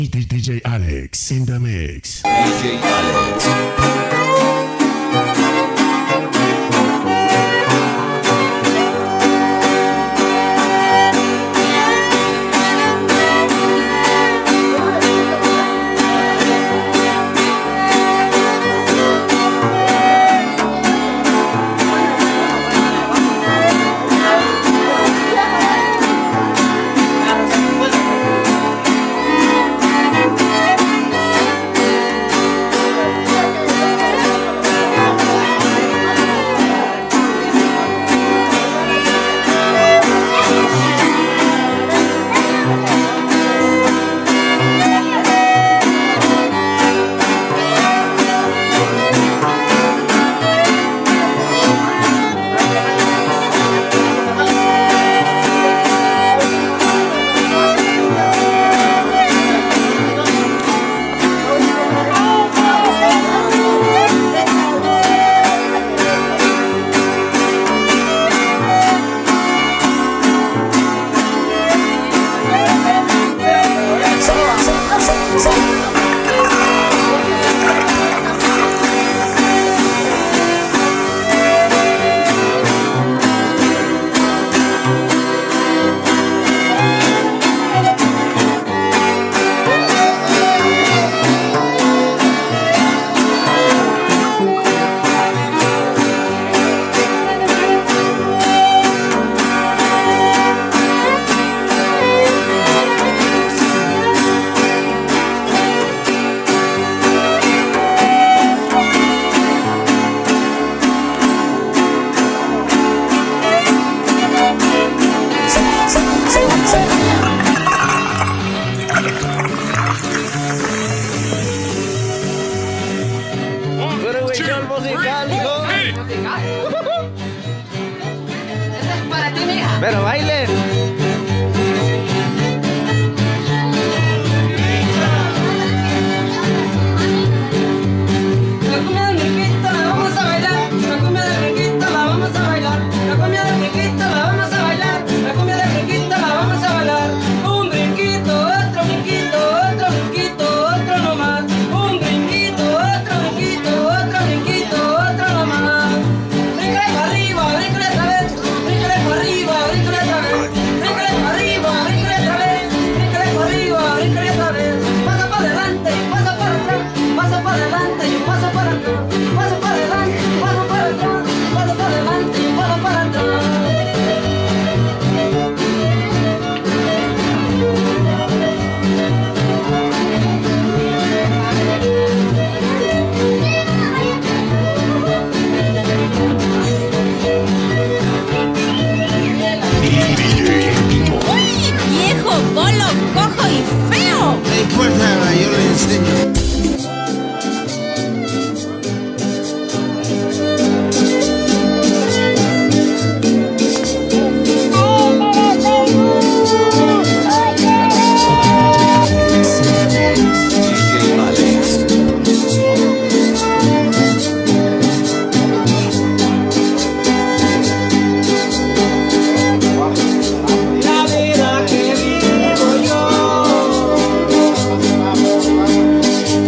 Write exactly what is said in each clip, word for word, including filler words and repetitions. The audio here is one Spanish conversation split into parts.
D J Alex in the mix. D J Alex. Pero bailen. La cumbia del riquito la vamos a bailar. La cumbia del riquito la vamos a bailar. La cumbia del riquito la vamos a bailar. La cumbia del riquito la vamos a bailar. Un brinquito, otro brinquito, otro brinquito, otro nomás. Un brinquito, otro brinquito, otro brinquito, otro nomás. Bríncale para arriba, bríncale otra vez. Bríncale para arriba, bríncale otra vez. Bríncale para arriba, bríncale otra vez. Bríncale para arriba, bríncale otra vez. Pasa para adelante y pasa para atrás. Pasa para adelante y pasa para atrás. Pasa para adelante y pasa para atrás. Pasa para adelante y pasa para atrás. ¡Uy, viejo, bolo, cojo y feo! No importa, yo le enseño. La vida que vivo yo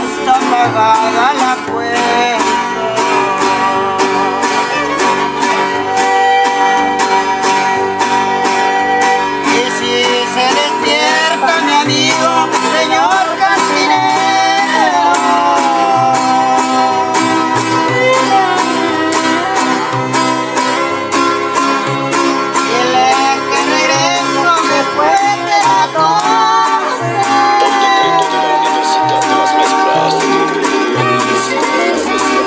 está pagada la cuenta. Y si se despierta mi amigo, señor cantinero, dile que regreso después de las doce. Decreto de la Universidad de las Mezclas.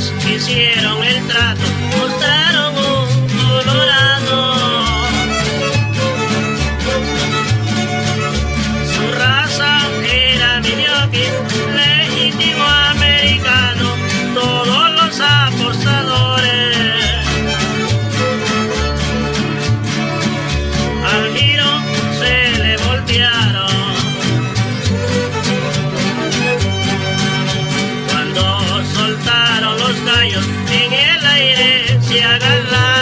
gallos hicieron el trato, mostraron un colorado. Su raza era Milwaukee, legítimo americano, todos los apostadores. Al giro se le voltearon. Cuando soltaron los gallos en el aire se agarraron.